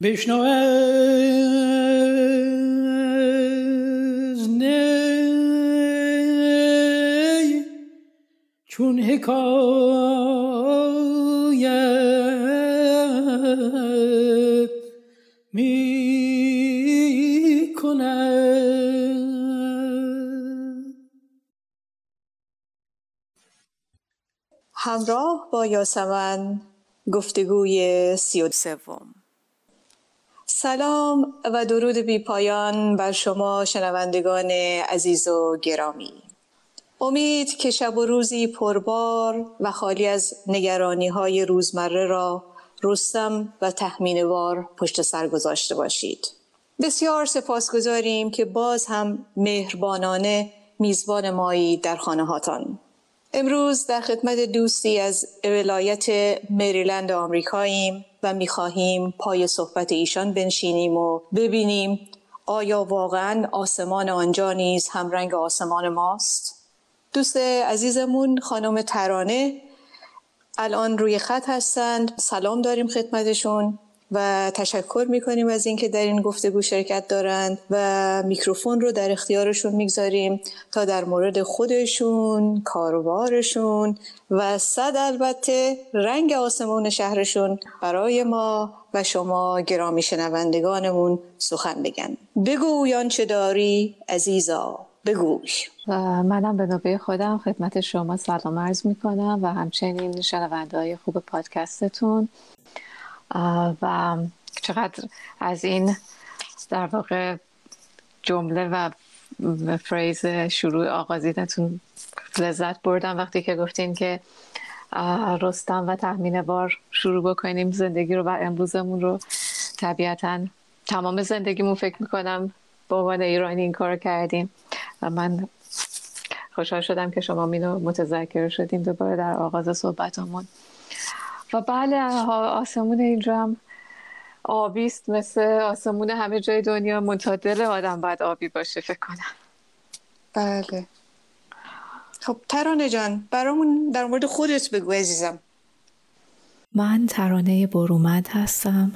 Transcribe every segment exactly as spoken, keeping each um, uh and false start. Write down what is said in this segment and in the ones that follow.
بشنو از نی چون حکایت می کند. همراه با یاسمن گفتگوی سی و سوم. سلام و درود بی پایان بر شما شنوندگان عزیز و گرامی. امید که شب و روزی پربار و خالی از نگرانی‌های روزمره را رستم و تخمین‌وار پشت سر گذاشته باشید. بسیار سپاسگزاریم که باز هم مهربانانه میزبان مایی در خانه‌هاتان. امروز در خدمت دوستی از ولایت مریلند آمریکاییم و می‌خواهیم پای صحبت ایشان بنشینیم و ببینیم آیا واقعاً آسمان آنجا نیز همرنگ آسمان ماست؟ دوست عزیزمون خانم ترانه الان روی خط هستند. سلام داریم خدمتشون و تشکر میکنیم از اینکه در این گفتگو شرکت دارند و میکروفون رو در اختیارشون میگذاریم تا در مورد خودشون، کاروبارشون و صد البته رنگ آسمون شهرشون برای ما و شما گرامی شنوندگانمون سخن بگن. بگوی آنچه داری عزیزا، بگوی. منم به نوبه خودم خدمت شما سلام عرض میکنم و همچنین شنونده‌های خوب پادکستتون و چقدر از این در واقع جمله و فریز شروع آغازینتون لذت بردم وقتی که گفتین که رستم و تخمین‌وار شروع بکنیم زندگی رو و امروزمون رو. طبیعتاً تمام زندگیمون فکر میکنم به عنوان ایرانی این کار کردیم و من خوشحال شدم که شما اینو متذکر شدیم دوباره در آغاز صحبتمون. و بله آسمون اینجا هم آبیست مثل آسمون همه جای دنیا، منتها دل آدم باید آبی باشه فکر کنم. بله. خب ترانه جان برامون در مورد خودت بگو عزیزم. من ترانه برومند هستم.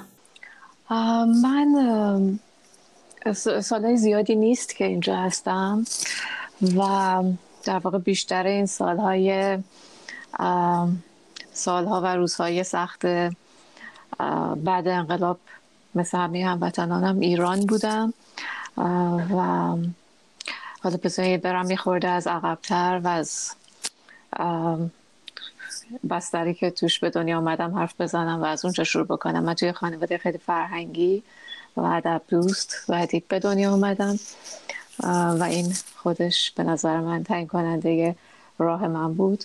من سالهای زیادی نیست که اینجا هستم و در واقع بیشتر این سالهای سالها و روزهای سخت بعد انقلاب مثل همه هموطنانم ایران بودم و حالا بذارید برم یه خورده از عقب‌تر و از بستری که توش به دنیا آمدم حرف بزنم و از اونجا شروع بکنم. من توی خانواده خیلی فرهنگی و ادب دوست و ادیب به دنیا آمدم و این خودش به نظر من تعیین کننده راه من بود.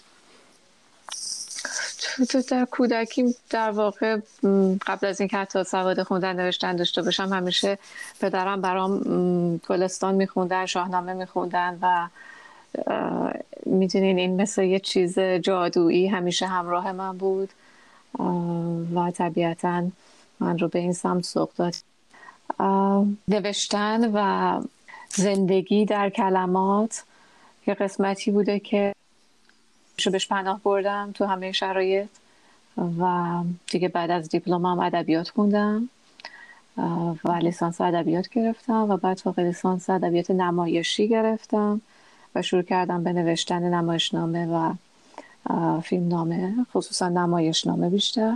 تو در کودکیم در واقع قبل از اینکه حتی سواد خوندن نوشتن داشته باشم همیشه پدرم برام گلستان میخوندن، شاهنامه میخوندن و میدونین این مثل یه چیز جادویی همیشه همراه من بود و طبیعتاً من رو به این سمت سوق داد. نوشتن و زندگی در کلمات یه قسمتی بوده که شو بهش پناه بردم تو همه شرایط و دیگه بعد از دیپلمم ادبیات خوندم و لیسانس ادبیات گرفتم و بعد فوق لیسانس ادبیات نمایشی گرفتم و شروع کردم به نوشتن نمایشنامه و فیلمنامه، خصوصا نمایشنامه بیشتر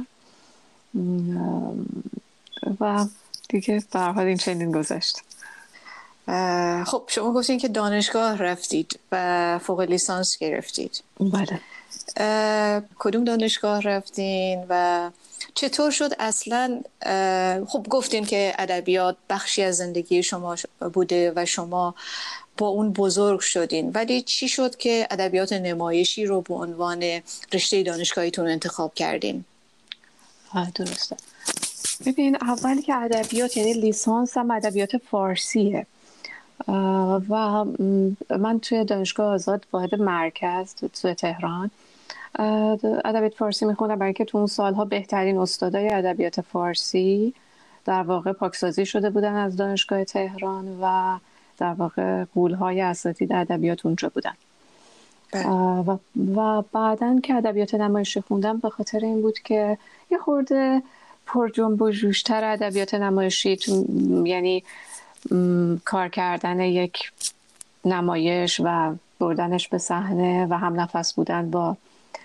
و دیگه به هر حال این چنین گذشت. خب شما گفتین که دانشگاه رفتید و فوق لیسانس گرفتید. بله. کدوم دانشگاه رفتین و چطور شد اصلا؟ خب گفتین که ادبیات بخشی از زندگی شما بوده و شما با اون بزرگ شدین، ولی چی شد که ادبیات نمایشی رو به عنوان رشته دانشگاهیتون انتخاب کردین؟ آه درسته. ببین اولی که ادبیات یعنی لیسانس هم ادبیات فارسیه و من توی دانشگاه آزاد واحد مرکز توی تهران ادبیات فارسی میخوندم برای اینکه تو اون سالها بهترین استادای ادبیات فارسی در واقع پاکسازی شده بودن از دانشگاه تهران و در واقع غول‌های اساتید ادبیات اونجا بودن. و, و بعدن که ادبیات نمایشی خوندم به خاطر این بود که یه خورده پر جنب و جوشتر ادبیات نمایشی، یعنی کار کردن یک نمایش و بردنش به صحنه و هم نفس بودن با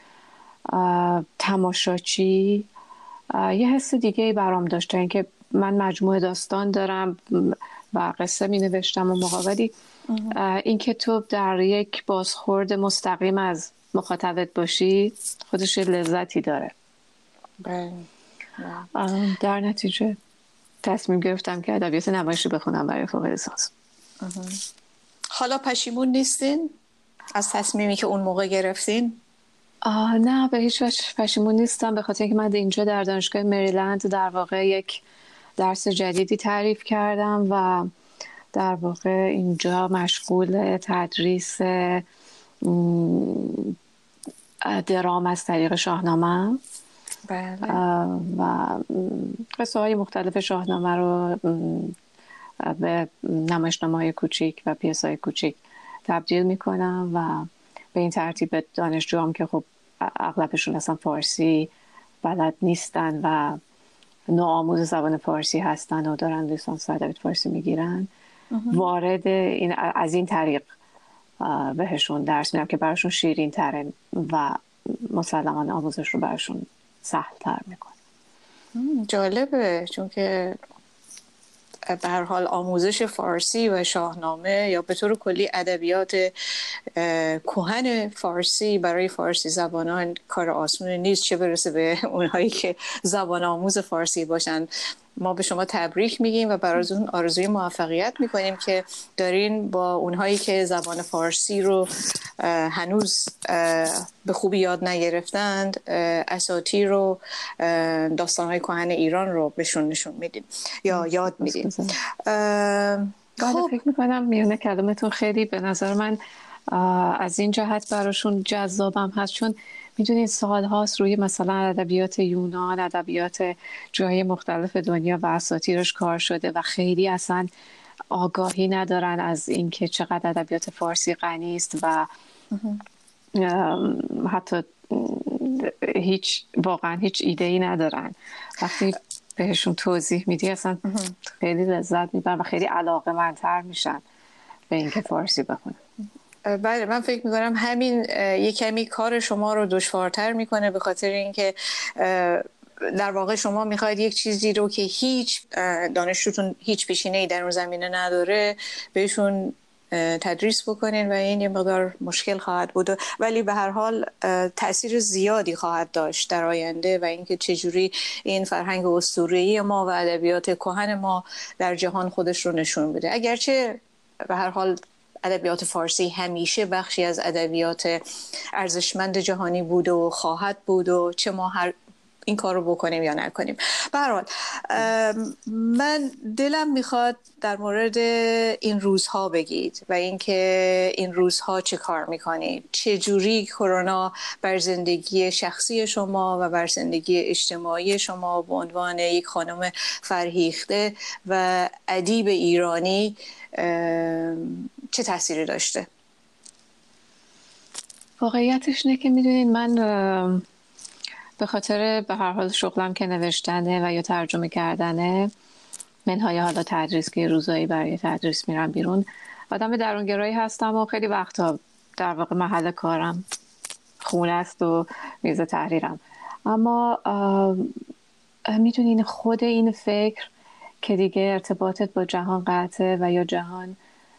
تماشاچی یه حس دیگه برام داشته. اینکه من مجموعه داستان دارم و قصه می نوشتم و مقابلی اینکه تو در یک بازخورد مستقیم از مخاطبت باشی خودش لذتی داره. بله. در نتیجه تصمیم گرفتم که ادبیات نمایشی بخونم برای فوق لیسانس. حالا پشیمون نیستین از تصمیمی که اون موقع گرفتین؟ آه نه، به هیچ وجه پشیمون نیستم، به خاطر اینکه من اینجا در دانشگاه مریلند در واقع یک درس جدیدی تعریف کردم و در واقع اینجا مشغول تدریس درام از طریق شاهنامه. بله. و قصه های مختلف شاهنامه رو به نمایشنامه‌های کوچیک و پیاس‌های کوچیک تبدیل میکنم و به این ترتیب به دانشجوام که خب اغلبشون اصلا فارسی بلد نیستن و نوآموز زبان فارسی هستن و دارن لیسانس ادبیات فارسی میگیرن، وارد این از این طریق بهشون درس میدم که براشون شیرین تره و مسلماً آموزش رو براشون سهل تر میکنه. جالبه، چون که به هر حال آموزش فارسی و شاهنامه یا به طور کلی ادبیات کهن فارسی برای فارسی زبانان کار آسون نیست، چه برسه به اونهایی که زبان آموز فارسی باشن. ما به شما تبریک میگیم و براتون آرزوی موفقیت میکنیم که دارین با اونهایی که زبان فارسی رو هنوز به خوبی یاد نگرفتند اساطیر رو، داستانهای کهن ایران رو بهشون نشون میدین یا یاد میدین. خب فکر میکنم میونه کلمتون خیلی به نظر من از این جهت براشون جذابم هست، چون میدونید سال هاست روی مثلا ادبیات یونان، ادبیات جای مختلف دنیا و اساطیرش کار شده و خیلی اصلا آگاهی ندارن از اینکه چقدر ادبیات فارسی غنی است و حتی هیچ واقعا هیچ ایده‌ای ندارن. وقتی بهشون توضیح میدی اصلا خیلی لذت میبرن و خیلی علاقه‌مندتر میشن به اینکه فارسی بخونن. بله، من فکر میکنم همین یک کمی کار شما رو دشوارتر میکنه، به خاطر اینکه در واقع شما میخواید یک چیزی رو که هیچ دانشجوتون هیچ پیشینه‌ای در اون زمینه نداره بهشون تدریس بکنین و این یه مقدار مشکل خواهد بود، ولی به هر حال تأثیر زیادی خواهد داشت در آینده و اینکه چجوری این فرهنگ اسطوره‌ای ما و ادبیات کهن ما در جهان خودش رو نشون بده. اگرچه به هر حال ادبیات فارسی همیشه بخشی از ادبیات ارزشمند جهانی بود و خواهد بود و چه ما هر این کار رو بکنیم یا نکنیم. به هر حال من دلم میخواد در مورد این روزها بگید و اینکه این روزها چه کار میکنید، چه جوری کرونا بر زندگی شخصی شما و بر زندگی اجتماعی شما به عنوان یک خانم فرهیخته و ادیب ایرانی چه تأثیری داشته؟ واقعیتش اینه که میدونید من به خاطر به هر حال شغلم که نوشتنه و یا ترجمه کردنه، منهای حالا تدریس که روزایی برای تدریس میرم بیرون، آدم درونگرایی هستم و خیلی وقتا در واقع محل کارم خونه است و میز تحریرم. اما میدونین خود این فکر که دیگه ارتباطت با جهان قطعه و یا جهان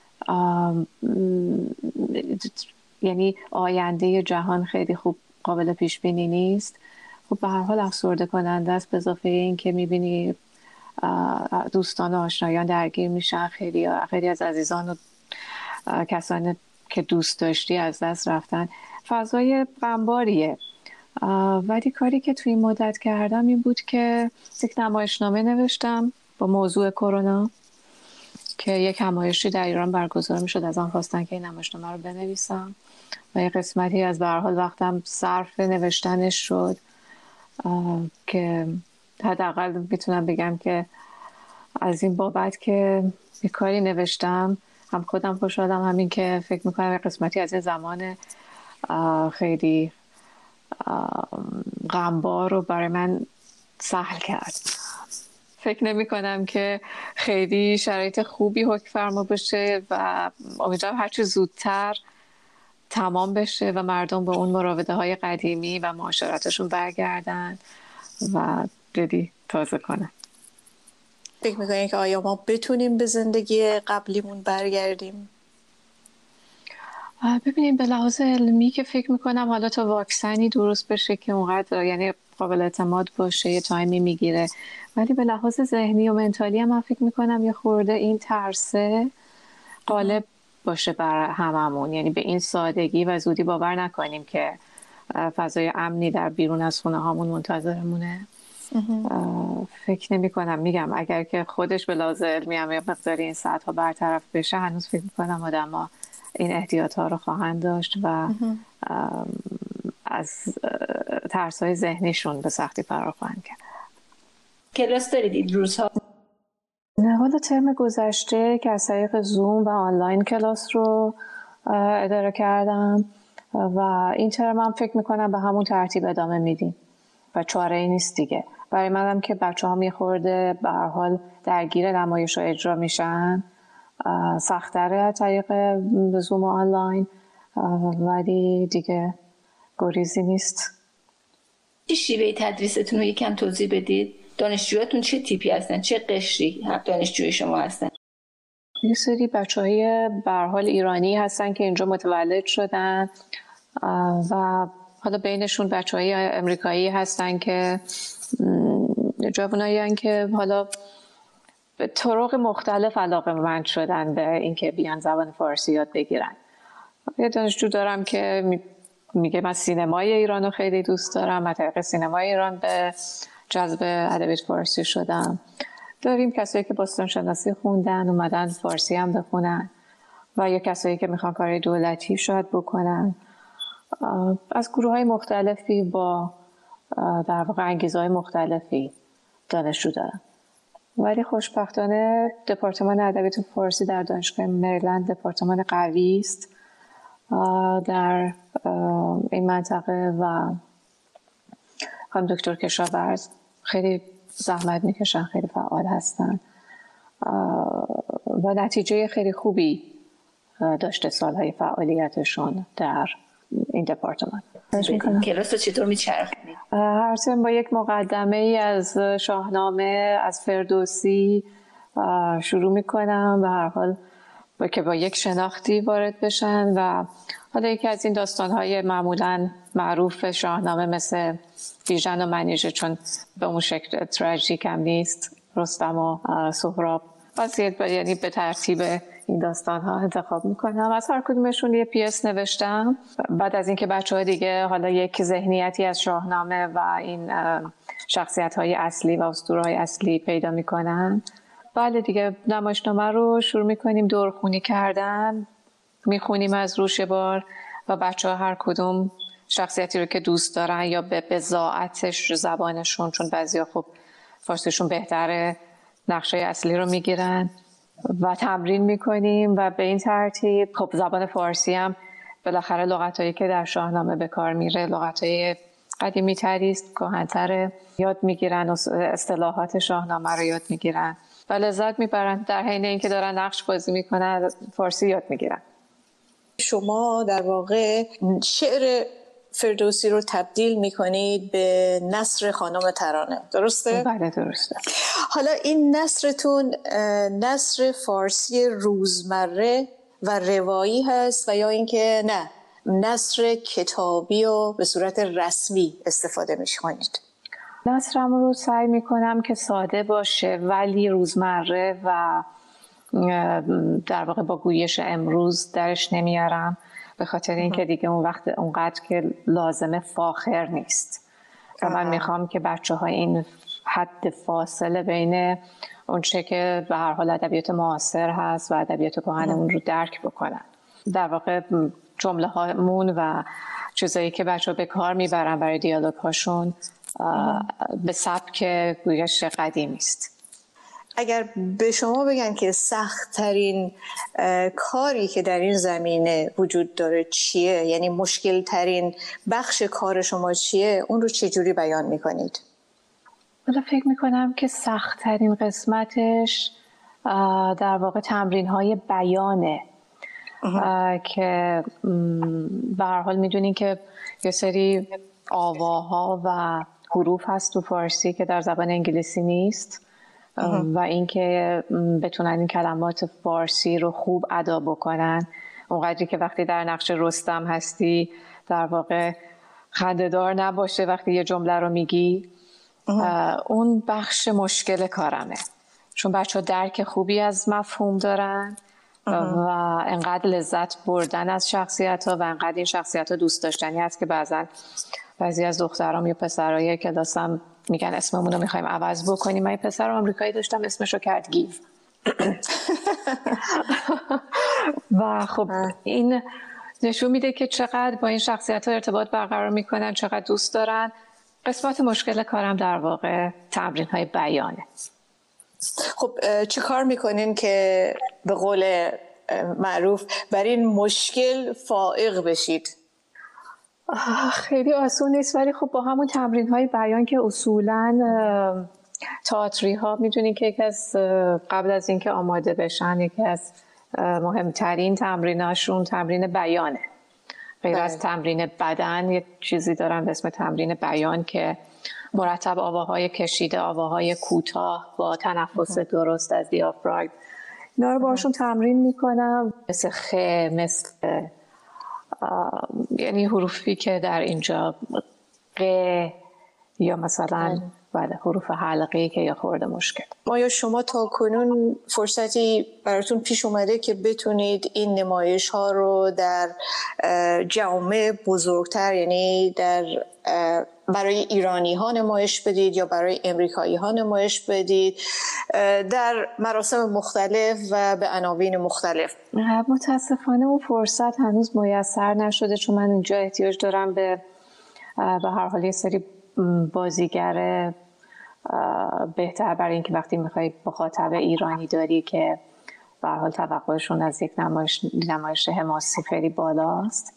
یعنی آینده جهان خیلی خوب قابل پیش بینی نیست، خب به هر حال افسرده کننده است. به اضافه این که میبینی دوستان و آشنایان درگیر میشن، خیلی خیلی از عزیزان و کسانی که دوست داشتی از دست رفتن، فضای غمباریه. ولی کاری که توی این مدت کردم این بود که یک نمایشنامه نوشتم با موضوع کرونا که یک نمایشی در ایران برگزار میشد، از آن خواستن که این نمایشنامه رو بنویسم و یک قسمتی از به هر حال وقتم صرف نوشتنش شد که حداقل میتونم بگم که از این بابت که یک کاری نوشتم هم خودم خوشحالم، همین که فکر میکنم یک قسمتی از این زمان خیلی غمبار رو برای من سهل کرد. فکر نمی کنم که خیلی شرایط خوبی حکم فرما بشه و امیدوارم هرچی زودتر تمام بشه و مردم به اون مراوده های قدیمی و معاشرتشون برگردن و دلی تازه کنن. فکر میکنین که آیا ما بتونیم به زندگی قبلیمون برگردیم؟ ببینیم به لحاظ علمی که فکر میکنم حالا تا واکسنی درست بشه که اونقدر یعنی قابل اعتماد باشه یه تایمی میگیره، ولی به لحاظ ذهنی و منتالی هم من فکر میکنم یه خورده این ترسه غالب باشه بر هممون، یعنی به این سادگی و زودی باور نکنیم که فضای امنی در بیرون از خونه هامون منتظرمونه. فکر نمی کنم، میگم اگر که خودش به لحاظ علمی هم یه مقداری این ساعت ها برطرف بشه هنوز فکر میکنم آدم ها این احتیاط ها رو خواهند داشت و از ترس های ذهنیشون به سختی فرار خواهند کرد. کلاس دارید این روزها؟ نه، حالا ترم گذشته که از طریق زوم و آنلاین کلاس رو اداره کردم و این ترم هم فکر میکنم به همون ترتیب ادامه میدیم و چاره ای نیست دیگه. برای منم که بچه ها میخورده به هر حال درگیر نمایش ها اجرا میشن سخت‌تره از طریق زوم و آنلاین، ولی دیگه گریزی نیست. چه شیوه تدریستون رو یکم توضیح بدید؟ دانشجویاتون چه تیپی هستن؟ چه قشری دانشجوی شما هستن؟ یه سری بچه های به هر حال ایرانی هستن که اینجا متولد شدن و حالا بینشون بچه های امریکایی هستن که جوانایی هستن که حالا به طرق مختلف علاقه‌مند شدن به اینکه بیان زبان فارسی یاد بگیرن. یه دانشجو دارم که میگه من سینمای ایران رو خیلی دوست دارم، از طریق سینمای ایران به جذب ادبیات فارسی شدم. داریم کسایی که باستان شناسی خوندن اومدن فارسی هم بخونن و یا کسایی که میخوان کار دولتی شاید بکنن. از گروه های مختلفی با در واقع انگیزهای مختلفی دانشجو دارم، ولی خوشبختانه دپارتمان ادبیات فارسی در دانشگاه مریلند دپارتمان قوی است در این منطقه و خانم دکتر کشاورز خیلی زحمت میکشن، خیلی فعال هستن و نتیجه خیلی خوبی داشته سالهای فعالیتشون در این دپارتمان. کلاس رو چطور میچرخونید؟ هر ترم با یک مقدمه ای از شاهنامه از فردوسی شروع میکنم و هر حال با که با یک شناختی وارد بشن و حالا یکی از این داستان‌های معمولاً معروف شاهنامه مثل بیژن و منیژه، چون به اون شکل تراژیک هم نیست، رستم و سهراب، واسه یعنی به ترتیب این داستان‌ها انتخاب میکنم. از هر کدومشون یه پیس نوشتم. بعد از اینکه بچه‌ها دیگه حالا یک ذهنیتی از شاهنامه و این شخصیت‌های اصلی و اسطوره‌های اصلی پیدا میکنن، بله دیگه نمایشنامه رو شروع میکنیم دورخونی کردن، میخونیم از روش بار و بچه‌ها هر کدوم شخصیتی رو که دوست دارن یا به بضاعتش زبانشون، چون بعضیا خب فارسیشون بهتره، نقشه اصلی رو میگیرن و تمرین میکنیم و به این ترتیب خب زبان فارسی هم بالاخره لغتایی که در شاهنامه به کار میره لغتای قدیمی تری است، کهن‌تر، یاد میگیرن و اصطلاحات شاهنامه رو یاد میگیرن و لذت میبرن، در حین اینکه دارن نقش بازی میکنن فارسی یاد میگیرن. شما در واقع شعر فردوسی رو تبدیل میکنید به نثر خانم ترانه، درسته؟ بله درسته. حالا این نثرتون نثر فارسی روزمره و روایی هست و یا اینکه نه نثر کتابی و به صورت رسمی استفاده میکنید؟ نثرم رو سعی میکنم که ساده باشه ولی روزمره و در واقع با گویش امروز درش نمیارم، به خاطر اینکه دیگه اون وقت اونقدر که لازمه فاخر نیست و من میخوام که بچه ها این حد فاصله بین اون چه که به هر حال ادبیات معاصر هست و ادبیات کهن اون رو درک بکنن. در واقع جمله هامون و چیزایی که بچه ها به کار میبرن برای دیالوگ هاشون به سبک گویش قدیمی است. اگر به شما بگن که سخت ترین کاری که در این زمینه وجود داره چیه، یعنی مشکل ترین بخش کار شما چیه، اون رو چجوری بیان میکنید؟ حالا فکر میکنم که سخت‌ترین قسمتش در واقع تمرین‌های بیانه که به هر حال میدونین که یه سری آواها و حروف هست تو فارسی که در زبان انگلیسی نیست و اینکه بتونن این کلمات فارسی رو خوب ادا بکنن، اونقدری که وقتی در نقش رستم هستی در واقع خنده‌دار نباشه وقتی یه جمله رو میگی. اون بخش مشکل کارمه، چون بچه ها درک خوبی از مفهوم دارن و انقدر لذت بردن از شخصیت ها و انقدر این شخصیت ها دوست داشتنی هست که بعضا بعضی از دخترام یا پسرهای کلاسم میگن اسممون رو میخوایم عوض بکنیم. من یه پسر آمریکایی داشتم اسمش رو کرد گیو و خب این نشون میده که چقدر با این شخصیت ها ارتباط برقرار میکنن، چقدر دوست دارن. قسمت مشکل کارم در واقع تمرین های بیانه. خب چه کار میکنین که به قول معروف بر این مشکل فائق بشید؟ خیلی آسون نیست، ولی خب با همون تمرین های بیان که اصولاً تئاتری ها میدونین که یکی از قبل از اینکه آماده بشن یکی از مهمترین تمریناشون تمرین بیانه. غیر از تمرین بدن یک چیزی دارن به اسم تمرین بیان که مرتب آواهای کشیده، آواهای کوتاه با تنفس درست از دیافراگم، اینا رو باشون تمرین میکنم. مثل خ، مثل یعنی حروفی که در اینجا ق یا مثلا بله حروف حلقه‌ای که یا خورده مشکل. ما یا شما تا کنون فرصتی براتون پیش اومده که بتونید این نمایش ها رو در جامعه بزرگتر، یعنی در برای ایرانی ها نمایش بدید یا برای امریکایی ها نمایش بدید در مراسم مختلف و به عناوین مختلف؟ متاسفانه اون فرصت هنوز میسر نشده، چون من اینجا احتیاج دارم به به هر حال یه سری بازیگر بهتر، برای اینکه وقتی میخوای مخاطب ایرانی داری که به هر حال توقعشون از یک نمایش نمایش حماسی خیلی بالاست.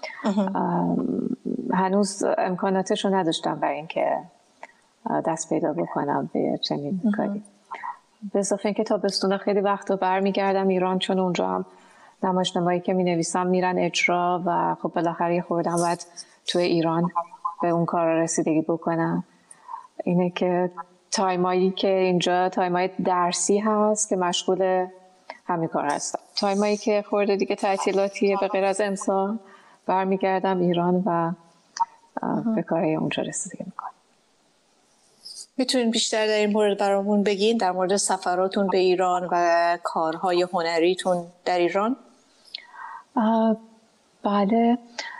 هنوز امکاناتش رو نداشتم برای اینکه دست پیدا بکنم به چنین کاری. به اضافه اینکه تابستون خیلی وقت رو برمیگردم ایران، چون اونجا هم نمایش نمایی که می نویسم میرن اجرا و خب بالاخره خوردم باید توی ایران به اون کار رسیدگی بکنم. اینه که تایمایی که اینجا تایمای درسی هست که مشغول همین کار هستم، تایمایی که خورده دیگه تعطیلاتیه به غیر از امسال برمیگردم ایران و به کارهای اونجا رسیدگی میکنم. میتونین بیشتر در این مورد برامون بگین، در مورد سفراتون به ایران و کارهای هنریتون در ایران؟ بله،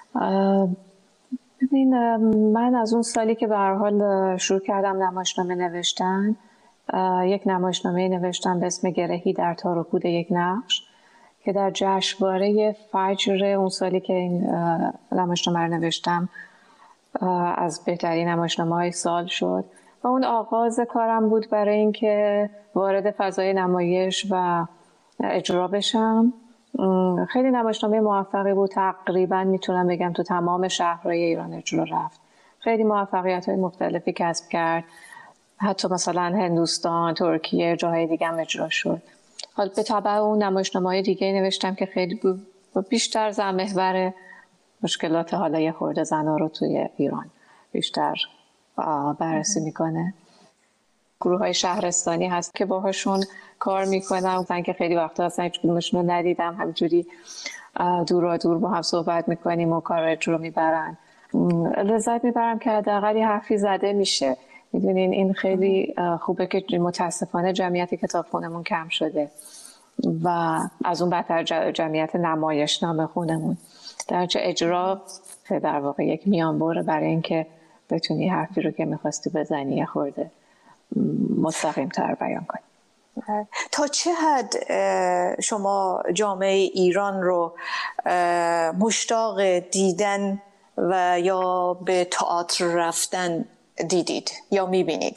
ببین من از اون سالی که به هر حال شروع کردم نمایشنامه نوشتن، یک نمایشنامه نوشتم به اسم گرهی در تار و پود یک نقش که در جشنواره فجر اون سالی که این نمایشنامه رو نوشتم از بهترین نمایشنامه‌های سال شد و اون آغاز کارم بود برای اینکه وارد فضای نمایش و اجرا بشم. خیلی نمایشنامه موفقی بود، تقریبا میتونم بگم تو تمام شهرهای ایران اجرا رفت، خیلی موفقیت‌های مختلفی کسب کرد، حتی مثلا هندوستان، ترکیه، جاهای دیگه هم اجرا شد. حالا به تبع اون نمایشنامه‌های دیگه نوشتم که خیلی بیشتر زن محور مشکلات حالا یه خورده زن‌ها رو توی ایران بیشتر بررسی میکنه. گروه های شهرستانی هست که باهاشون کار میکنم، من که خیلی وقتا اصلا هیچ کدومشون رو ندیدم، همینجوری دورا دور با هم صحبت میکنیم و کار اجرا میبرن. لذت میبرم که حداقل یه حرفی زده میشه. میدونین این خیلی خوبه که متاسفانه جمعیت کتابخونمون کم شده و از اون بدتر جمعیت نمایشنامه خونمون، در چه اجرا در واقع یک میانبره برای اینکه بتونی حرفی رو که میخواستی بزنی یه خورده مستقیم تر بیان کنی. تا چه حد شما جامعه ایران رو مشتاق دیدن و یا به تئاتر رفتن دیدید یا میبینید؟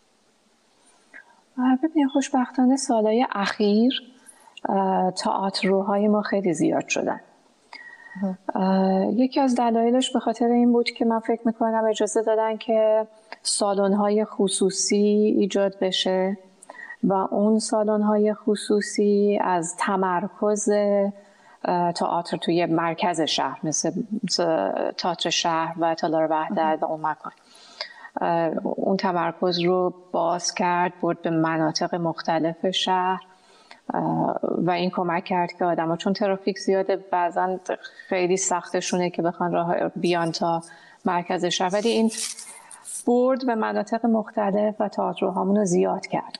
ببینید خوشبختانه سالهای اخیر تئاتر روهای ما خیلی زیاد شدن یکی از دلایلش به خاطر این بود که من فکر میکنم اجازه دادن که سالن‌های خصوصی ایجاد بشه و اون سالن‌های خصوصی از تمرکز تئاتر توی مرکز شهر مثل تئاتر شهر و تالار وحدت و اون مکان اون تمرکز رو باز کرد، برد به مناطق مختلف شهر و این کمک کرد که آدم‌ها چون ترافیک زیاده بعضا خیلی سختشونه که بخوان راه بیان تا مرکز شهر، ولی این برد به مناطق مختلف و تئاترهامون رو زیاد کرد.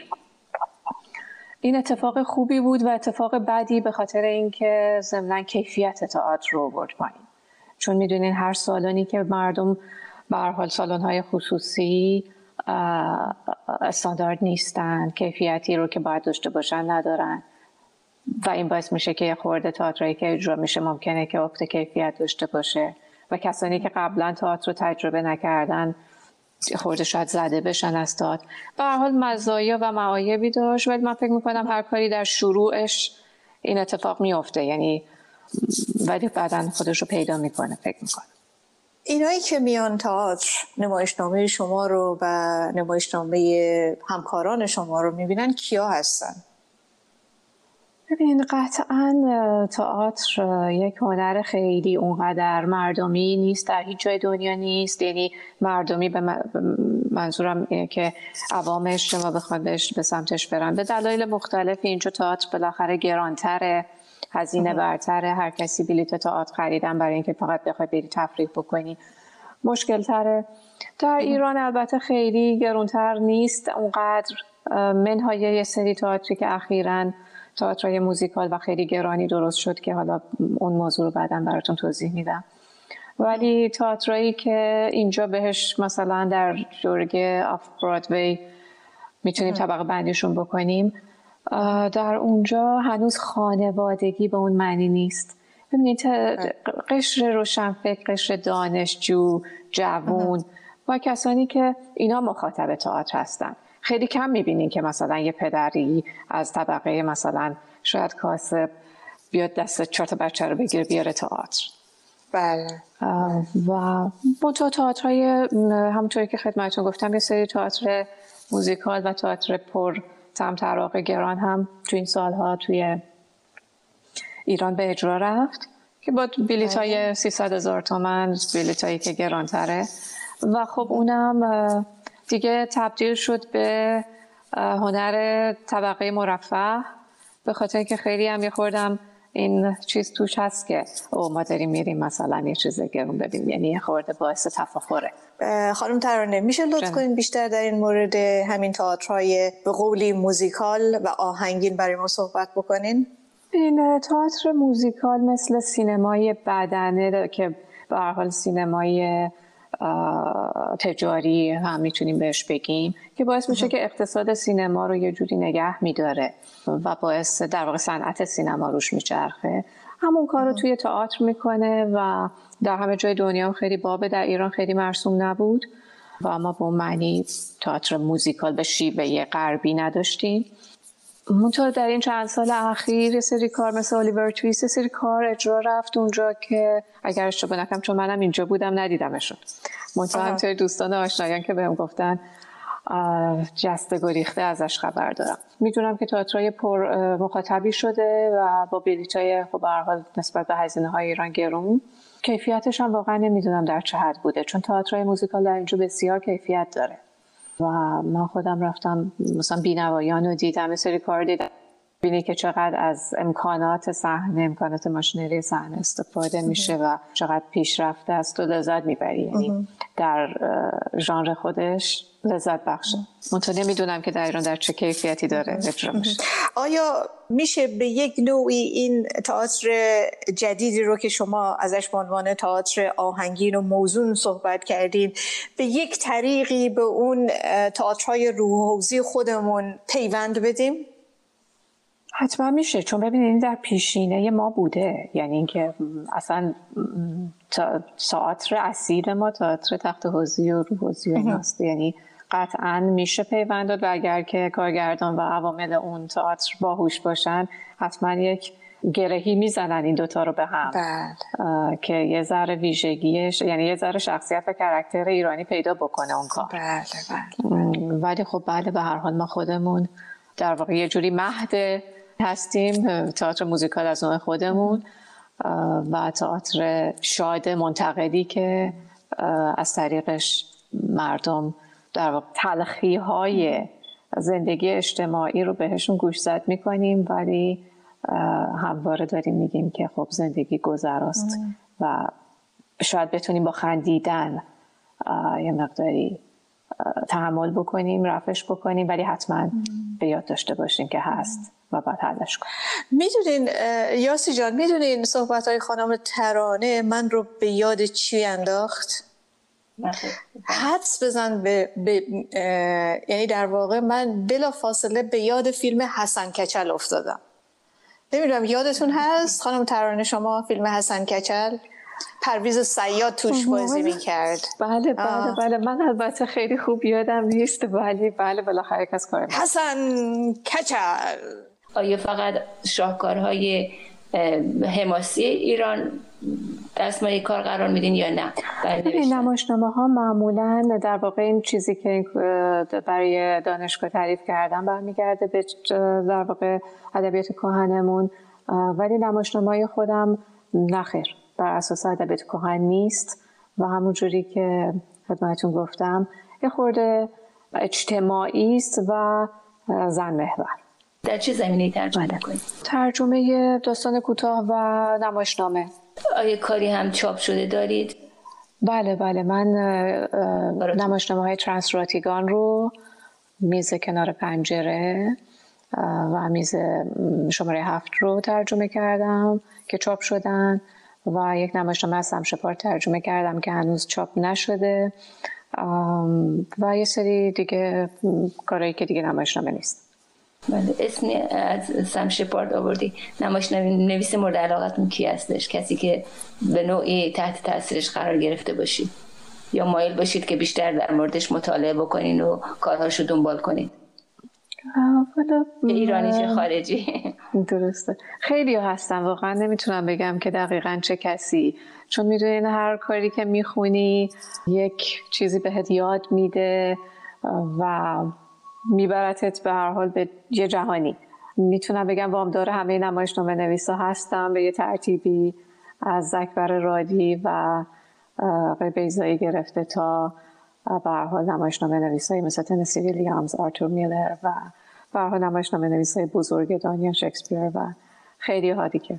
این اتفاق خوبی بود و اتفاق بدی به خاطر اینکه ضمناً کیفیت تئاتر رو برد پایین، چون میدونین هر سالنی که مردم به هر حال سالن‌های خصوصی استاندارد نیستن، کیفیتی رو که باید داشته باشن ندارن و این باعث میشه که یه خورده تئاتری که اجرا میشه ممکنه که افت کیفیت داشته باشه و کسانی که قبلا تئاتر رو تجربه نکردن خورده شاید زده بشن از تئاتر. به هر حال مزایا و معایبی داشت، ولی من فکر میکنم هر کاری در شروعش این اتفاق میفته، یعنی ولی بعداً خودش رو پیدا میکنه. فکر میکنم اینایی که میان تئاتر نمایشنامه شما رو و نمایشنامه همکاران شما رو میبینن کیا هستن؟ ببین قطعاً تئاتر یک هنر خیلی اونقدر مردمی نیست، در هیچ جای دنیا نیست. یعنی مردمی به منظورم اینه که عوامش شما بخواد بهش به سمتش برن به دلایل مختلفی. اینجا تئاتر بالاخره گرانتره، هزینه برتره، هر کسی بلیط تئاتر خریدن برای اینکه فقط بخواد بری تفریح بکنی مشکل تره. در ایران البته خیلی گرانتر نیست اونقدر، منهای یه سری تئاتری که اخیراً تئاترای موزیکال و خیلی گرانی درست شد که حالا اون موضوع رو بعداً براتون توضیح میدم. ولی تئاترایی که اینجا بهش مثلا در جورگ آف برادوی میتونیم طبقه بندیشون بکنیم، در اونجا هنوز خانوادگی به اون معنی نیست. ببینید قشر روشنفکر، قشر دانشجو، جوون و کسانی که اینا مخاطب تئاتر هستن. خیلی کم میبینین که مثلا یه پدری از طبقه مثلا شاید کاسب بیاد دست چهار تا بچه رو بگیره بیاره تئاتر. بله. و منتها تئاترهای همونطوری که خدمتتون گفتم یه سری تئاتر موزیکال و تئاتر پر تمطراق گران هم تو این سالها توی ایران به اجرا رفت که با بلیط‌های سیصد هزار تومان، بلیط‌هایی که گرانتره و خب اونم دیگه تبدیل شد به هنر طبقه مرفه، به خاطر که خیلی هم یه خوردم این چیز توش هست که او ما داریم میریم مثلا یه چیز گرون ببینیم، یعنی یه خورده باعث تفاخره. خانم ترانه میشه لطف کنین بیشتر در این مورد همین تئاترهای به قولی موزیکال و آهنگین برای ما صحبت بکنین؟ این تئاتر موزیکال مثل سینمای بدنه که به هر حال سینمای تجاری هم میتونیم بهش بگیم که باعث میشه که اقتصاد سینما رو یه جوری نگه میداره و باعث در واقع صنعت سینما روش میچرخه. همون کار رو توی تئاتر میکنه و در همه جای دنیا هم خیلی بابه، در ایران خیلی مرسوم نبود و ما به اون معنی تئاتر موزیکال به شیوه غربی نداشتیم. منطقه در این چند سال اخیر یه سری کار مثل الیور تویست، یه سری کار اجرا رفت اونجا که اگر اشتباه نکنم چون منم اینجا بودم ندیدمشون، منطقه همطوری دوستان آشنایان که بهم گفتن جسته گریخته ازش خبر دارم. میدونم که تئاترای پر مخاطبی شده و با بلیطای خب به هر حال نسبت به هزینه‌های ایران گرون. کیفیتش هم واقعا نمیدونم در چه حد بوده، چون تئاترای موزیکال در اینجا بسیار کیفیت داره و من خودم رفتم مثلا بینوایان رو دیدم، یه سری کار دیدم، بینی که چقدر از امکانات صحنه، امکانات ماشینری صحنه استفاده میشه و چقدر پیشرفته است و لذت میبری، یعنی در ژانر خودش لذت بخشه. منتها نمیدونم که در ایران در چه کیفیتی داره اجرا میشه. آیا میشه به یک نوعی این تئاتر جدیدی رو که شما ازش به عنوان تئاتر آهنگین و موزون صحبت کردین به یک طریقی به اون تئاترهای روح‌حوزی خودمون پیوند بدیم؟ حتما میشه، چون ببینید در پیشینه ما بوده، یعنی اینکه اصلا تئاتر اصیل ما تئاتر تخت حوزی و روح‌حوزی و ایناست، یعنی قطعا میشه پیوند داد و اگر که کارگردان و عوامل اون تئاتر باهوش باشن حتما یک گرهی میزنن این دوتا رو به هم. بله. که یه ذره ویژگیش، یعنی یه ذره شخصیت و کاراکتر ایرانی پیدا بکنه اون کار. بله بله. ولی خب بله به هر حال ما خودمون در واقع یه جوری مهد هستیم، تئاتر موزیکال از نوع خودمون و تئاتر شاد منتقدی که از طریقش مردم در واقع تلخی های زندگی اجتماعی رو بهشون گوشزد میکنیم، ولی همواره داریم میگیم که خب زندگی گذراست و شاید بتونیم با خندیدن یه مقداری تحمل بکنیم، رفعش بکنیم، ولی حتما به یاد داشته باشیم که هست و باید حلش کنیم. میدونین یاسی جان، میدونین صحبت‌های خانم ترانه من رو به یاد چی انداخت؟ حدس بزن به, به یعنی در واقع من بلا فاصله به یاد فیلم حسن کچل افتادم. نمیدونم یادتون هست خانم ترانه شما فیلم حسن کچل؟ پرویز صیاد توش بازی میکرد. بله بله آه. بله من البته خیلی خوب یادم نیست، ولی بله بالاخره یک از کار حسن کچل. آیا فقط شاهکارهای حماسی ایران دستمایه کار قرار میدین یا نه؟ این نمایشنامه ها معمولا در واقع این چیزی که برای دانشگاه تعریف کردم برمیگرده به در واقع ادبیات کهنمون، ولی نمایشنامه های خودم نخیر بر اساس ادبیات کهن نیست و همون جوری که خدمتتون گفتم یه خورده اجتماعی است و زن محور. در چه زمینه‌ای ترجمه می‌کنید؟ ترجمه داستان کوتاه و نمایشنامه. آیا کاری هم چاپ شده دارید؟ بله بله من نمایشنامه‌های ترانس راتیگان رو میز کنار پنجره و میز شماره هفت رو ترجمه کردم که چاپ شدن و یک نمایشنامه از سمشپار ترجمه کردم که هنوز چاپ نشده و یه سری دیگه کارهایی که دیگه نمایشنامه نیست. بله اسم از سم شپارد آوردی. نمایشنویس مورد علاقتون کی هستش؟ کسی که به نوعی تحت تاثیرش قرار گرفته باشید یا مایل باشید که بیشتر در موردش مطالعه بکنین و کارهاشو دنبال کنید؟ ایرانی چه خارجی؟ درسته خیلی هستن واقعا نمیتونم بگم که دقیقاً چه کسی، چون میدونین هر کاری که میخونی یک چیزی بهت یاد میده و میبرتت به هر حال به یه جهانی. میتونم بگم وامدار همه نمایشنامه نویسا هستم به یه ترتیبی، از اکبر رادی و آقای بیضایی گرفته تا به هر حال نمایشنامه نویسایی مثل تنسی ویلیامز، آرتور میلر و به هر حال نمایشنامه نویسای بزرگ دانیال شکسپیر و خیلی ها دیگه.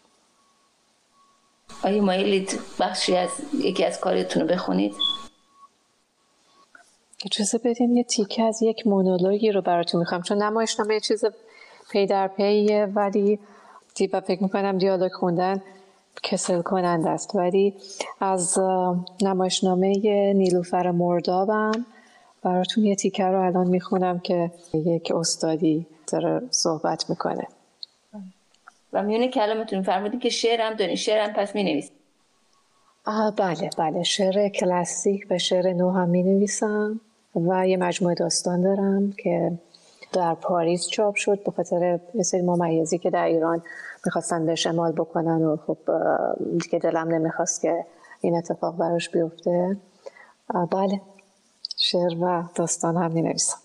آیا مایلید بخشی از یکی از کارتون رو بخونید؟ اجازه بدین یه تیکه از یک مونولوگی رو براتون میخوام، چون نمایشنامه یه چیز پی در پیه ولی دیبا فکر میکنم دیالوگ خوندن کسل کننده است، ولی از نمایشنامه نیلوفر مردابم براتون یه تیکه رو الان میخونم که یک استادی داره صحبت میکنه. و میونه کلامتون فرمودین که شعرم دارین، شعرم پس مینویسید؟ بله بله شعر کلاسیک و شعر نو هم مینویسم و یه مجموعه داستان دارم که در پاریس چاپ شد به خاطر یه سری ممیزی که در ایران میخواستن بهش اعمال بکنن و خب دیگه دلم نمیخواست که این اتفاق براش بیفته. بله شعر و داستان هم مینویسم.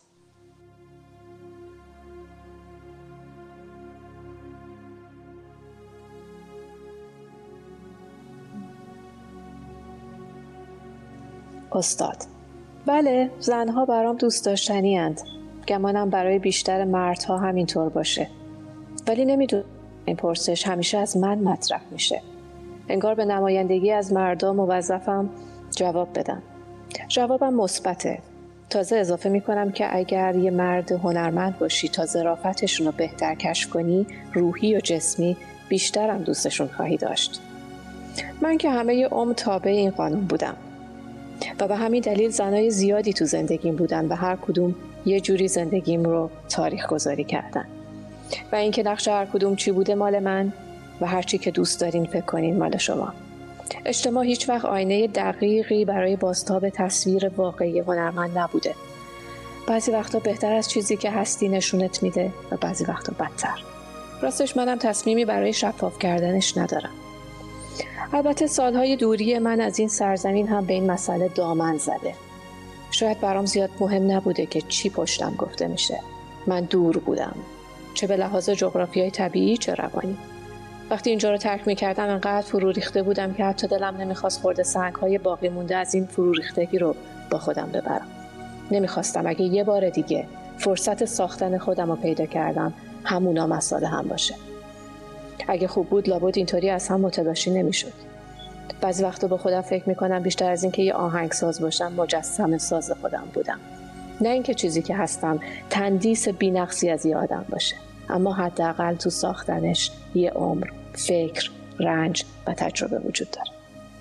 استاد: بله زنها برام دوست داشتنی اند. گمانم برای بیشتر مردها همینطور باشه. ولی نمیدونم این پرسش همیشه از من مطرح میشه. انگار به نمایندگی از مردا موظفم جواب بدم. جوابم مثبته. تازه اضافه میکنم که اگر یه مرد هنرمند باشی تا ظرافتشون رو بهتر کشف کنی، روحی و جسمی بیشتر هم دوستشون خواهی داشت. من که همه عمر تابع این قانون بودم و به همین دلیل زنای زیادی تو زندگیم بودن و هر کدوم یه جوری زندگیم رو تاریخ گذاری کردن و اینکه نقش هر کدوم چی بوده مال من و هر چی که دوست دارین فکر کنین مال شما. اجتماع هیچ وقت آینه دقیقی برای بازتاب تصویر واقعی هنرمند نبوده. بعضی وقتا بهتر از چیزی که هستی نشونت میده و بعضی وقتا بدتر. راستش منم تصمیمی برای شفاف کردنش ندارم. البته سالهای دوری من از این سرزمین هم به این مسئله دامن زده. شاید برام زیاد مهم نبوده که چی پشتم گفته میشه. من دور بودم، چه به لحاظ جغرافیای طبیعی چه روانی. وقتی اینجا رو ترک میکردم انقدر فرو ریخته بودم که حتی دلم نمیخواست خورده سنگ‌های باقی مونده از این فرو ریختگی رو با خودم ببرم. نمیخواستم اگه یه بار دیگه فرصت ساختن خودم رو پیدا کردم همونا مسئله هم باشه. اگه خوب بود لابد اینطوری از هم متلاشی نمیشد. بعضی وقتا با خودم فکر میکنم بیشتر از این که یه آهنگساز باشم مجسمه ساز خودم بودم. نه اینکه چیزی که هستم تندیس بی‌نقصی از یه آدم باشه، اما حداقل تو ساختنش یه عمر، فکر، رنج و تجربه وجود داره.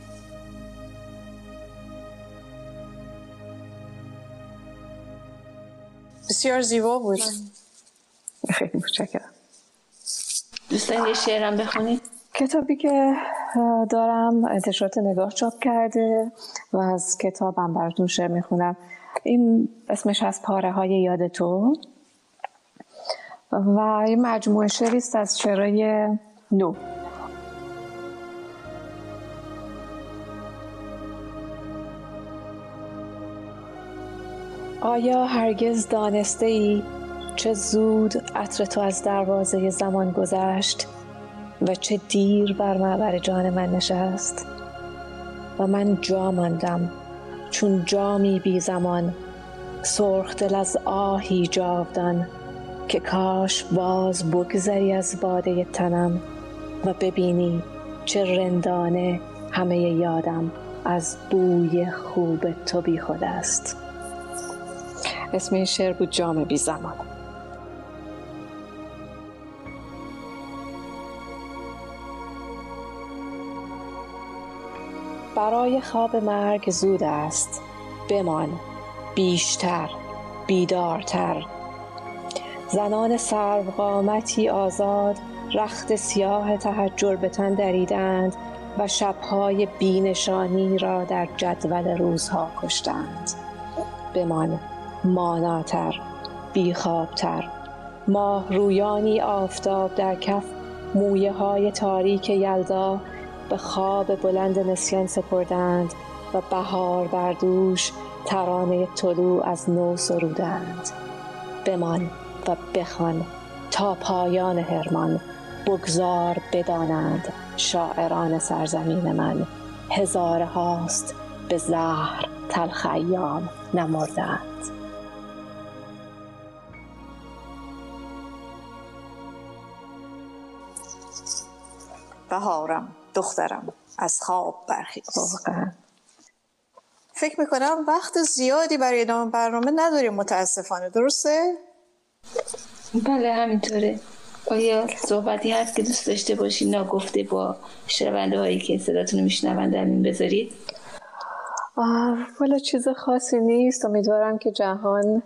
بسیار زیبا بود. خیلی متشکرم. دوستان یه شعرم بخونید؟ کتابی که دارم انتشارات نگاه چاپ کرده و از کتابم براتون شعر میخونم. این اسمش از پاره های یاد تو و این مجموعه شعری است از شعرهای نو. آیا هرگز دانسته ای چه زود عطر تو از دروازه زمان گذشت و چه دیر بر معبر جان من نشست و من جا ماندم چون جامی بی زمان، سرخ دل از آهی جاودان که کاش باز بگذری از باده تنم و ببینی چه رندانه همه یادم از بوی خوب تو بی خود است. اسم این شعر بود جام بی زمان. برای خواب مرگ زود است، بمان بیشتر، بیدارتر. زنان سروقامتی آزاد رخت سیاه تحجر به تن دریدند و شبهای بینشانی را در جدول روزها کشتند. بمان ماناتر، بیخوابتر. ماه رویانی آفتاب در کف، مویه های تاریک یلدا به خواب بلند نسیان سپردند و بهار بر دوش ترانه طلوع از نو سرودند. بمان و بخوان تا پایان حرمان، بگذار بدانند شاعران سرزمین من، هزار هاست به زهر تلخ ایام نمردند. بهارم دخترم از خواب برخیز. فکر میکنم وقت زیادی برای ادامه برنامه نداریم متاسفانه، درسته؟ بله همینطوره. آیا صحبتی هست که دوست داشته باشید ناگفته با شنونده هایی که صداتون رو میشنوند در این بذارید؟ والا چیز خاصی نیست. امیدوارم که جهان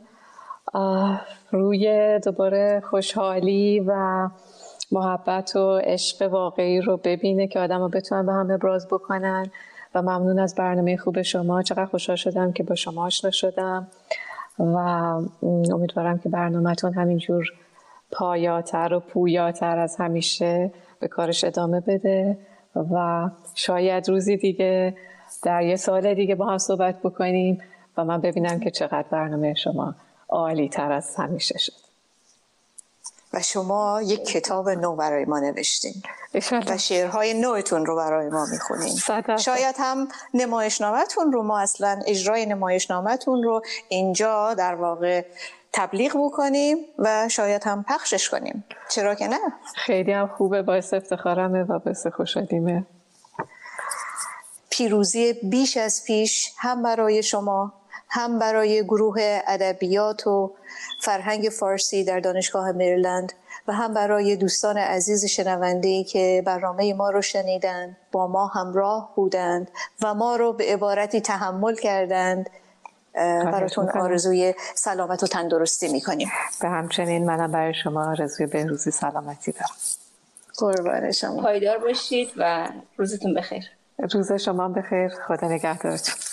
روی دوباره خوشحالی و محبت و عشق واقعی رو ببینه که آدم ها بتونن به هم ابراز بکنن. و ممنون از برنامه خوب شما. چقدر خوشحال شدم که با شما آشنا شدم و امیدوارم که برنامه‌تون همینجور پایاتر و پویاتر از همیشه به کارش ادامه بده و شاید روزی دیگه در یه سال دیگه با هم صحبت بکنیم و من ببینم که چقدر برنامه شما عالی تر از همیشه شد. و شما یک کتاب نو برای ما نوشتین و شعرهای نوتون رو برای ما میخونین. شاید هم نمایشنامه‌تون رو ما اصلا اجرای نمایشنامه‌تون رو اینجا در واقع تبلیغ بکنیم و شاید هم پخشش کنیم. چرا که نه؟ خیلی هم خوبه، باعث افتخارمه و باعث خوشحالیمه. پیروزی بیش از پیش هم برای شما، هم برای گروه ادبیات و فرهنگ فارسی در دانشگاه مریلند و هم برای دوستان عزیز شنونده‌ای که برنامه ما رو شنیدند، با ما همراه بودند و ما رو به عبارتی تحمل کردند. براتون آرزوی سلامت و تندرستی میکنیم. به همچنین منم برای شما آرزوی بهروزی سلامتی دارم. قربان شما. پایدار باشید و روزتون بخیر. روز شما بخیر. خدا نگهدارتون.